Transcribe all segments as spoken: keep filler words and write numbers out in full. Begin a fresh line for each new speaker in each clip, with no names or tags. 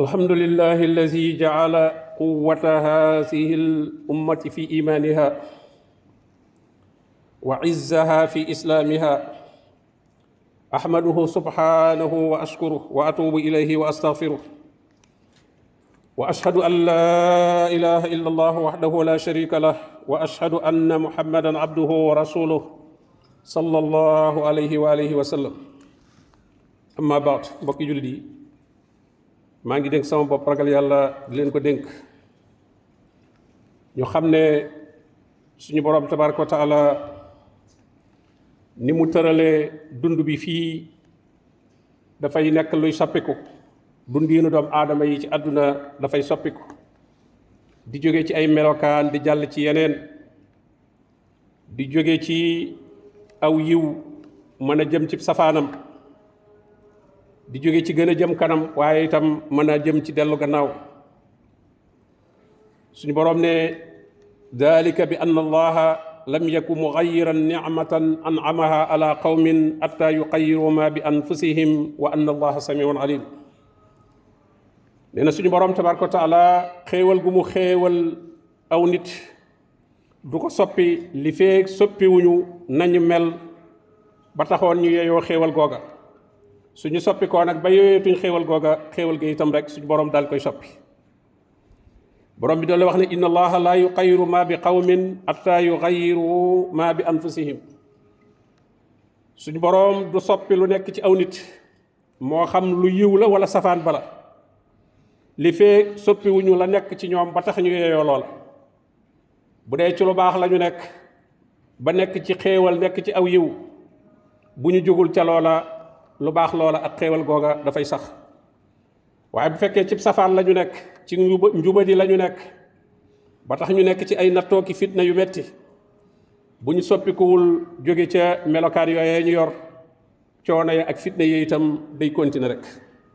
الحمد لله الذي جعل قوة هذه الأمة في إيمانها وعزها في إسلامها. أحمده سبحانه وأشكره وأتوب إليه وأستغفره، وأشهد أن لا إله إلا الله وحده لا شريك له، وأشهد أن محمدا عبده ورسوله صلى الله عليه وآله وسلم. أما بعد، mbokki jullit yi maa ngi dénk sama bopp ragal yàlla di leen ko dénk ñu xam ne suñu borom tabaraka wa taala ni mu tëralee dund bi fii dafay nekk luy soppiku. dundiinu doomu aadama yi ci àdduna dafay soppiku di jóge ci ay melokaan di jàll ci yeneen, di jóge ci aw yiw mën a jëm ci safaanam, di jóge ci gën a jëm kanam waaye itam mën a jëm ci dellu gannaaw. suñu boroom ne dalika bi anna allaha lam yaku mughayyiran ni'matan an'amaha ala qawmin hatta yughayyiru ma bi anfusihim wa anna allaha samiun alim. nee na suñu boroom tabaraka wa taala xéewal gu mu xéewal aw nit du ko soppi li feek soppiwuñu nañu mel ba taxoon ñu yeeyoo xéewal googa. suñu soppi koo nag ba yooyeetuñ xéewal googa xéewal ga itam rek suñu boroom daal koy soppi. boroom bi doole wax ne inna allaha la yughayyiru ma bi qawmin hatta yughayyiru ma bi anfusihim. suñu boroom du soppi lu nekk ci aw nit moo xam lu yiw la wala safaan bala li fee soppiwuñu la nekk ci ñoom ba tax ñu yeeyoo loola. bu dee ci lu baax la ñu nekk ba nekk ci xéewal nekk ci aw yiw, bu ñu jógul ca loola lu baax loola ak xéewal googa dafay sax. waaye bu fekkee ci safaan la ñu nekk ci njuba njubadi la ñu nekk ba tax ñu nekk ci ay nattoo ki fitna yu metti, bu ñu soppikuwul jóge ca melokaan yooyee ñu yor, coono ya ak fitna yi itam day continuer rek.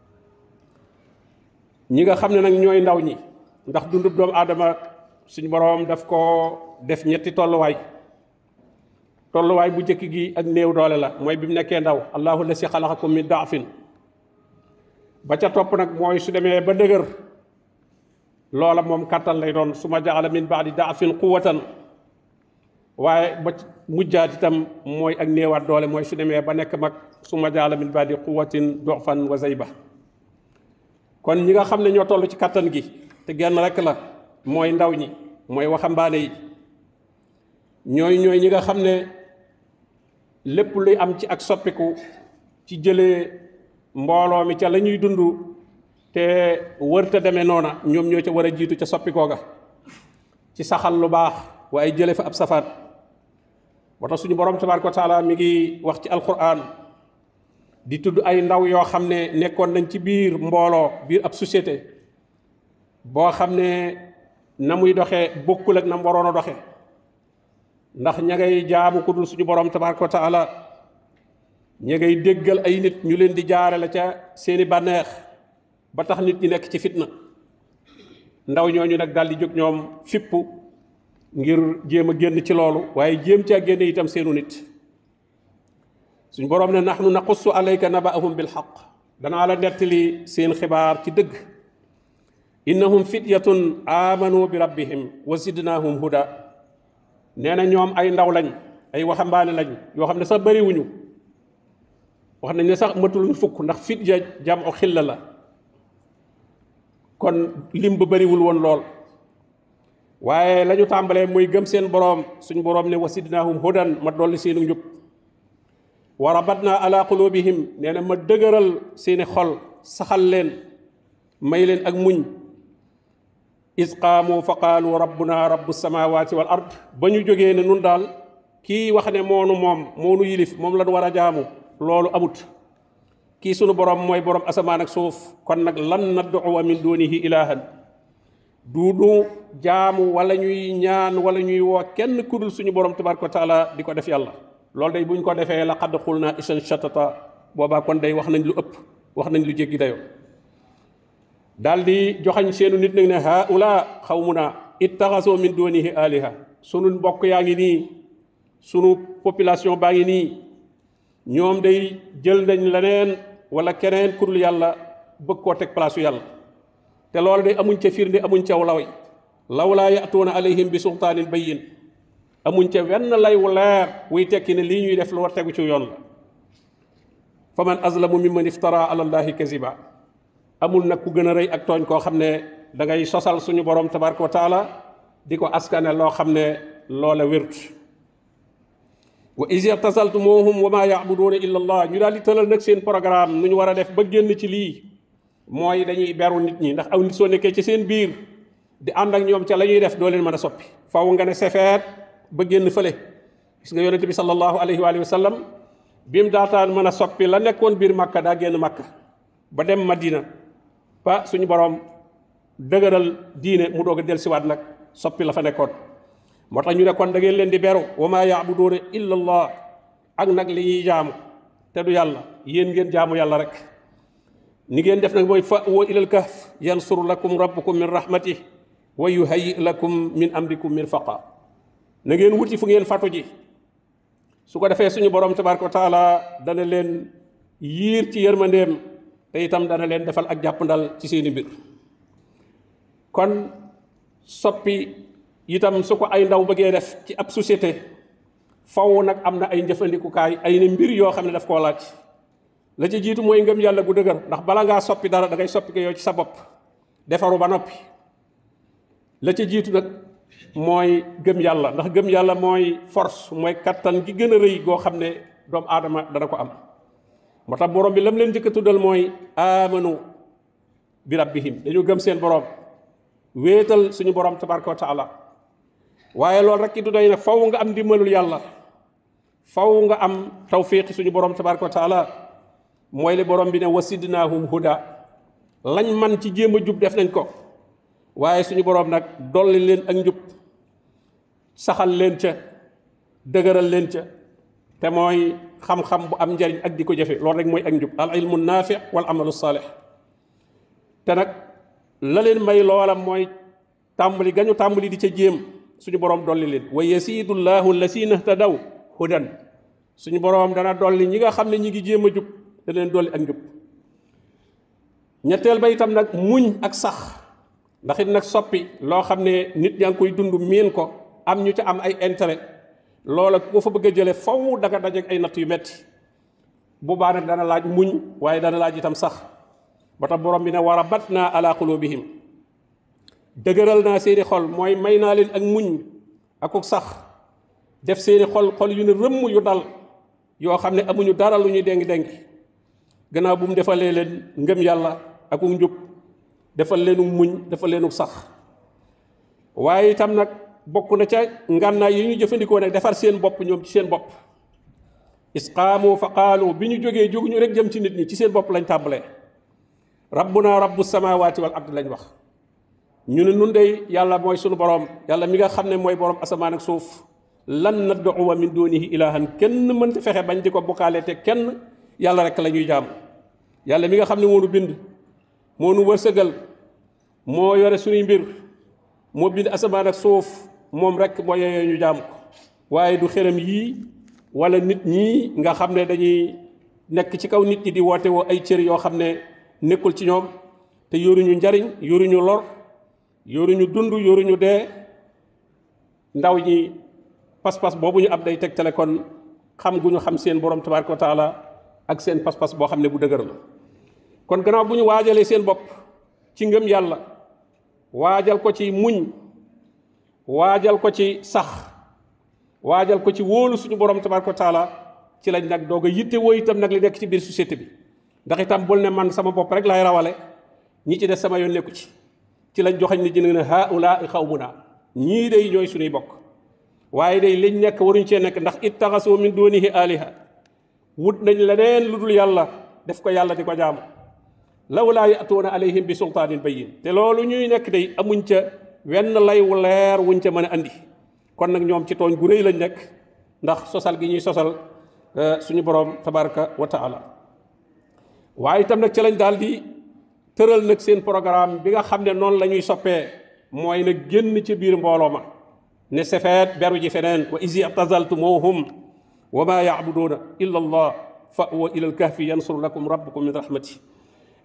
ñi nga xam ne nag ñooy ndaw ñi, ndax dundub doomu aadama suñu boroom daf koo def ñetti tolluwaay. tolluwaay bu njëkk gi ak néew doole la, mooy bi mu nekkee ndaw, allahu lasi xalaqakum min daafin. ba ca topp nag mooy su demee ba dëgër, loola moom kàttan lay doon, suma jaala min baadi daafin quwwatan. waaye ba mujjaat itam mooy ak néewaat doole, mooy su demee ba nekk mag, suma jaala min baadi quwwatin du'fan wa zayba. kon ñi nga xam ne ñoo toll ci kàttan gi te genn rek la, mooy ndaw ñi, mooy waxambaane yi. ñooy ñooy ñi nga xam ne lépp luy am ci ak soppiku ci jëlee mbooloo mi ca la ñuy dund te wërta demee noona, ñoom ñoo ca war a jiitu ca soppikoo ga ci saxal lu baax waaye jële fa ab safaat. moo tax suñu boroom tabaaraka wa taala mi ngi wax ci alquran di tudd ay ndaw yoo xam ne nekkoon nañ ci biir mbooloo, biir ab société boo xam ne na muy doxee bokkul ak na mu waroon a doxee, ndax ña ngay jaamu ku dul suñu boroom tabaaraka wa taala, ña ngay déggal ay nit ñu leen di jaarale ca seeni bànneex ba tax nit ñi nekk ci fitna. ndaw ñooñu nag daal di jóg ñoom fippu ngir jéem a génn ci loolu, waaye jéem caa génne itam seenu nit. suñu boroom ne nahnu naqussu alayka naba'ahum bil haqq, danaa la nettali seen xibaar ci dëgg. innahum fityatun amanu bi rabbihim wa zidnahum huda. nee na ñoom ay ndaw lañ, ay waxambaane lañ yoo xam ne sax bariwuñu, wax nañ ne sax matuluñ fukk, ndax fit ja jam'u xilla la, kon lim ba bariwul woon lool. waaye la ñu tàmbalee muy gëm seen boroom, suñ boroom ne wa zidnahum hudan, ma dolli seenu njub. wa rabatna ala qulubihim, nee na ma dëgëral seeni xol, saxal leen, may leen ak muñ. is qaamu fa qaalu rabbuna rabbu samawati wal ard, ba ñu jógee ne nun daal kii wax ne moonu moom moonu yilif moom lañ war a jaamu, loolu amut. kii sunu borom mooy borom asamaan ak suuf, kon nag lan nad'uwa min dunihi ilahan, du du jaamu wala ñuy ñaan wala ñuy woo kenn kudul suñu borom tabaraka wa taala di ko def yàlla. loolu day buñ ko defee laqad qulna isan shatata, boobaa kon day wax nañ lu ëpp, wax nañ lu jéggi dayoo. daal di joxañ seenu nit nag ne haula xawmuna ittaxasoo min dunihi aliha, sunu mbokk yaa ngi nii, sunu population baa ngi nii, ñoom day jël nañ leneen wala keneen ku dul yàlla bëgg koo teg place yàlla. te loolu de amuñ ca firnde amuñ ca laway lawlaa ya'tuuna alayhim bi sultaanin bayyin amuñ ca wenn lay wu leer wuy tekki ne lii ñuy def lu war tegu ci yoon la fa man azlamu mimman iftara ala allahi kaziba amul nag ku gën a rëy ak tooñ koo xam ne da ngay sosal suñu borom tabaraka wa taala di ko askane loo xam ne loola wérut wa iz i'tazaltumuhum wa ma ya'buduuna illa allah ñu daal di tëral nag seen programme nu ñu war a def ba génn ci lii mooy dañuy beru nit ñi ndax aw nit soo nekkee ci seen biir di ànd ak ñoom ca la ñuy def doo leen mën a soppi faw nga ne sefeet ba génn fële gis nga yonente bi sallallahu alayhi wa sallam bi mu daataan mën a soppi la nekkoon biir Makka daa génn Makka ba dem Madina ba suñu borom dëgëral diine mu doog a dellusiwaat nag soppi la fa nekkoon moo tax ñu ne kon da ngeen leen di beru wa maa ya'buduuna illa allah ak nag li ñuy jaamu te du yàlla yéen ngeen jaamu yàlla rek ni ngeen def nag mooy fa'wu ilal kahf yansur lakum rabbukum min rahmatih wa yuhayyi lakum min amrikum mirfaqa na ngeen wuti fu ngeen fatu ji su ko defee suñu borom tabaraka wa taala dana leen yiir ci yërmandeem te itam dana leen defal ak jàppandal ci seeni mbir kon soppi itam su ko ay ndaw bëggee def ci ab société faw nag am na ay njëfandikukaay ay ne mbir yoo xam ne daf koo laaj la ci jiitu mooy ngëm yàlla gu dëgër ndax bala ngaa soppi dara da ngay soppi ko yow ci sa bopp defaru ba noppi la ci jiitu nag mooy gëm yàlla ndax gëm yàlla mooy force mooy kattan gi gën a rëy goo xam ne doomu aadama dana ko am moo tax borom bi lam leen njëkk a tuddal mooy amanu bi rabbihim dañu gëm seen borom wéetal suñu borom tabaraka wa taala waaye loolu rek ki du doy nag faw nga am ndimbalul yàlla faw nga am tawfiq suñu borom tabaraka wa taala mooy li borom bi ne wasidnaahum huda lañ man ci jéem a jub def nañ ko waaye suñu borom nag dolli leen ak njub saxal leen ca dëgëral leen ca te mooy xam-xam bu am njariñ ak di ko jëfe loolu rek mooy ak njub al ilmu naafi wal amalu saalih te nag la leen may loolam mooy tàmbali gañu tàmbali di ca jéem suñu borom dolli leen wa yasidullahu allasina htadaw hudan suñu borom dana dolli ñi nga xam ne ñi ngi jéem a jub da leen dolli ak njub ñetteel ba itam nag muñ ak sax ndax it nag soppi loo xam ne nit ñaa ngi koy dund miin ko am ñu ca am ay intérêt loola ku ko fa bëgg a jële faw danga dajeek ay natt yu metti bu baax nag dana laaj muñ waaye dana laaj itam sax ba tax borom bi ne wa rabatna ala qulubihim dëgëral naa seeni xol mooy may naa leen ak muñ akuk sax def seeni xol xol yu ne rëmm yu dal yoo xam ne amuñu dara lu ñuy déngi-déngi gannaaw bu mu defalee leen ngëm yàlla akuk njub defal leenu muñ defal leenu sax waaye itam nag bokk na ca ngànnaay yi ñu jëfandikoo nag defar seen bopp ñoom ci seen bopp isqaamu fa qaalu bi ñu jógee jóguñu rek jëm ci nit ñi ci seen bopp lañ tàmbalee rabbuna rabbu samawati wal ard lañ wax ñu ne nun dey yàlla mooy sunu borom yàlla mi nga xam ne mooy borom asamaan ak suuf lan nad'uwa min dunihi ilahan kenn mënta fexe bañ di ko bokkaale te kenn yàlla rek la ñuy jaam yàlla mi nga xam ne moo nu bind moo nu wërsëgal moo yore suñuy mbir moo bind asamaan ak suuf moom rek moo yeyoo ñu jaam ko waaye du xërëm yii wala nit ñii nga xam ne dañuy nekk ci kaw nit ñi di woote woo ay cër yoo xam ne nekkul ci ñoom te yoruñu njariñ yoruñu lor yoruñu dund yoruñu dee ndaw ñi pas-pas boobu ñu ab day tegtale kon xam gu ñu xam seen borom tabaraka wa taala ak seen pas-pas boo xam ne bu dëgër la kon gannaaw bu ñu waajalee seen bopp ci ngëm yàlla waajal ko ci muñ waajal ko ci sax waajal ko ci wóolu suñu borom tabaraka wa taala ci lañ nag doog a yitte woo itam nag li nekk ci biir société bi ndax itam bul ne man sama bopp rek laay rawale ñi ci des sama yoon nekku ci ci lañ joxañ ni jëne ne haula xawmuna ñii day ñooy suñuy bokk waaye day liñ nekk waruñ cee nekk ndax ittaxasu min dunihi aliha wut nañ leneen lu dul yàlla def ko yàlla di ko jaamu lawlaa ya'tuuna alayhim bi sultaanin bayyin te loolu ñuy nekk day amuñ ca wenn lay wu leer wuñ ca mën a andi kon nag ñoom ci tooñ gu rëy lañ nekk ndax sosal gi ñuy sosal suñu borom tabaraka wa taala waaye itam nag ci lañ daal di tëral nag seen programme bi nga xam ne noonu la ñuy soppee mooy nag génn ci biir mbooloo ma ne sefeet beru ji feneen wa iz i'tazaltumuhum wa ma ya'buduuna illa allah fa'wa ila al-kahfi yansur lakum rabbukum min rahmati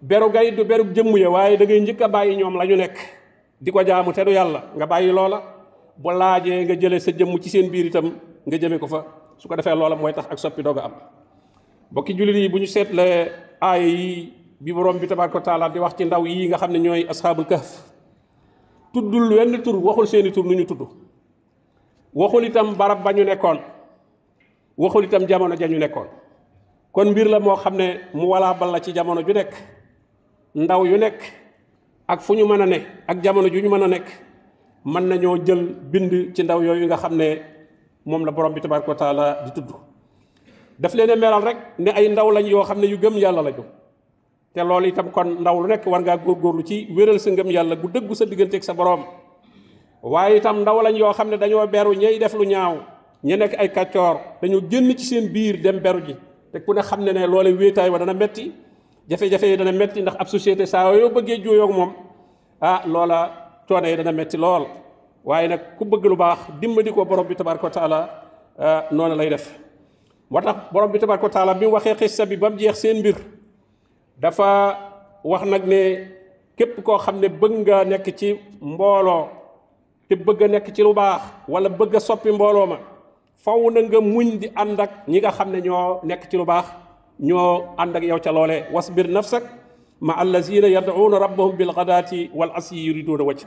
beru gay du beru jëmm ya waaye da ngay njëkk a bàyyi ñoom la ñu nekk di ko jaamu te du yàlla nga bàyyi loola bu laajee nga jëlee sa jëmm ci seen biir itam nga jëme ko fa su ko defee loola mooy tax ak soppi doog a am bokki jullit yi bu ñu seetlee aaya yi bi borom bi tabaaraka wa taala di wax ci ndaw yi nga xam ne ñooy asxaabul kahf tuddul wenn tur waxul seeni tur nu ñu tudd waxul itam barab ba ñu nekkoon waxul itam jamono ja ñu nekkoon kon mbir la moo xam ne mu walaa bal la ci jamono ju nekk ndaw yu nekk ak fu ñu mën a ne ak jamono ju ñu mën a nekk mën nañoo jël bind ci ndaw yooyu nga xam ne moom la borom bi tabaaraka wa taala di tudd daf leen a melal rek ne ay ndaw lañ yoo xam ne yu gëm yàlla lañu te loolu itam kon ndaw lu nekk war ngaa góorgóorlu ci wéral sa ngëm yàlla gu dëggu sa digganteeg sa borom waaye itam ndaw lañ yoo xam ne dañoo beru ñey def lu ñaaw ña nekk ay kàccoor dañoo génn ci seen biir dem beru ji te ku ne xam ne ne loole wéetaay wa dana metti jafe-jafe yi dana metti ndax ab société saa yoo bëggee jooyoog moom ah loola coono yi dana metti lool waaye nag ku bëgg lu baax dimbali ko borom bi tabaaraka wa taala noonu lay def moo tax borom bi tabaaraka wa taala bi mu waxee xissa bi ba mu jeex seen mbir dafa wax nag ne képp koo xam ne bëgg nga nekk ci mbooloo te bëgg a nekk ci lu baax wala bëgg a soppi mbooloo ma faw na nga muñ di ànd ak ñi nga xam ne ñoo nekk ci lu baax ñoo ànd ak yow ca loolee wasbir nafsak ma allazina yad'uuna rabbahum bil ghadaati wal asyi yuriduuna wajha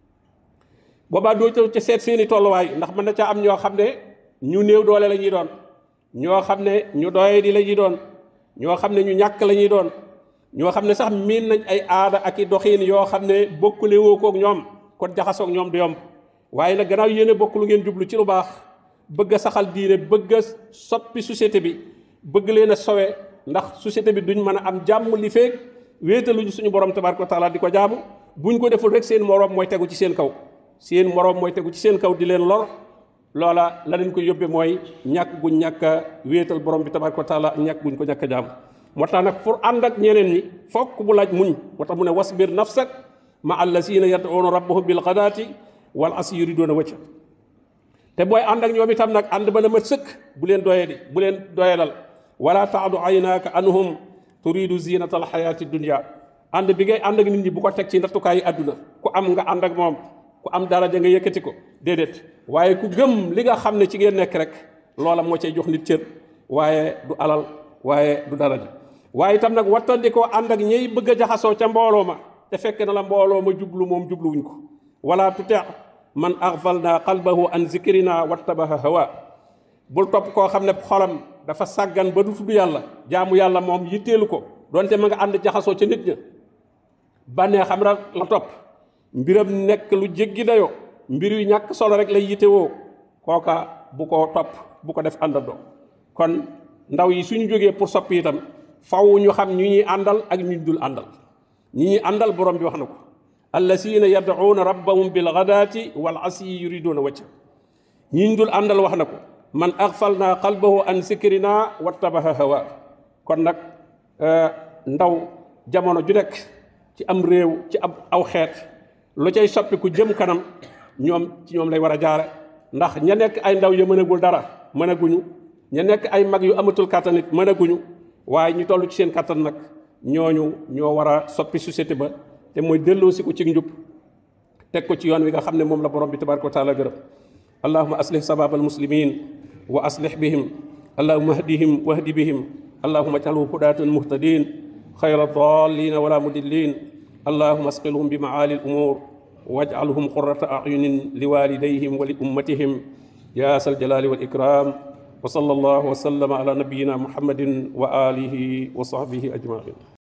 boobaa doo ca seet seeni tolluwaay ndax mën na caa am ñoo xam ne ñu néew doole la ñuy doon ñoo xam ne ñu doye di la ñuy doon ñoo xam ne ñu ñàkk la ñuy doon ñoo xam ne sax miin nañ ay aada ak i doxiin yoo xam ne bokkule woo koog ñoom kon jaxasoog ñoom du yomb waaye nag gannaaw yéene bokk lu ngeen jublu ci lu baax bëgg a saxal diine bëgg a soppi société bi bëgg leen a sowe ndax société bi duñ mën a am jàmm li feeg wéetaluñu suñu borom tabaaraka wa taala di ko jaamu buñ ko deful rek seen moroom mooy tegu ci seen kaw seen moroom mooy tegu ci seen kaw di leen lor loola la leen ko yóbbe mooy ñàkk guñ ñàkk a wéetal borom bi tabaaraka wa taala ñàkk guñ ko ñàkk a jaamu moo tax nag pour ànd ak ñeneen ñi fokk bu laaj muñ moo tax mu ne wasbir nafsak ma allazina yad'uuna rabbahum bil ghadaati wal asyi yuriduuna wajha te booy ànd ak ñoom itam nag ànd ba na mat sëkk bu leen doye di bu leen doyelal wala taadu aynaaka anhum turidu zinata al xayaati dunya ànd bi ngay ànd ak nit ñi bu ko teg ci nattukaay yi àdduna ku am nga ànd ak moom ku am daraja nga yëkkati ko déedéet waaye ku gëm li nga xam ne ci ngeen nekk rek loola moo cay jox nit cër waaye du alal waaye du daraja waaye itam nag wattandikoo ànd ak ñey bëgg a jaxasoo ca mbooloo ma te fekk na la mbooloo ma jublu moom jubluwuñ ko wala tuti man aghfalna qalbahu an zikrina wattabaha hawa bul topp koo xam ne xolam dafa sàggan ba du tudd yàlla jaamu yàlla moom yitteelu ko donte ma nga ànd jaxasoo ca nit ña bànnee xam ra la topp mbiram nekk lu jéggi dayoo mbir yu ñàkk solo rek lay yittewoo kooka bu ko topp bu ko def àndandoo kon ndaw yi suñu jógee pour soppi itam faw ñu xam ñu ñuy àndal ak ñu dul àndal ñi ñuy àndal borom bi wax na ko allazina yad'uuna rabbahum bil ghadaati wal asyi yuriduuna wajha ñi ñu dul àndal wax na ko man aghfalna qalbahu an zikrina wattabaha hawa kon nag ndaw jamono ju nekk ci am réew ci ab aw xeet lu cay soppiku jëm kanam ñoom ci ñoom lay war a jaare ndax ña nekk ay ndaw ya mënagul dara mënaguñu ña nekk ay mag yu amatul kàttan it mënaguñu waaye ñu toll ci seen kàttan nag ñooñu ñoo war a soppi société ba te mooy delloosi ko ci njub teg ko ci yoon wi nga xam ne moom la borom bi tabaraka wa taala gërëm allahuma aslih sabab almuslimin wa aslih bihim allahuma ahdihim wahdi bihim allahuma ij'alhum hudatan muhtadin khayra dallin wala mudillin allahuma asqilhum bi maali al-umur waj'alhum qurrata a'yunin liwalidayhim wa li ummatihim ya sal jalali wal ikram wa sallallahu wa sallama ala nabiyyina muhammadin wa alihi wa sahbihi ajma'in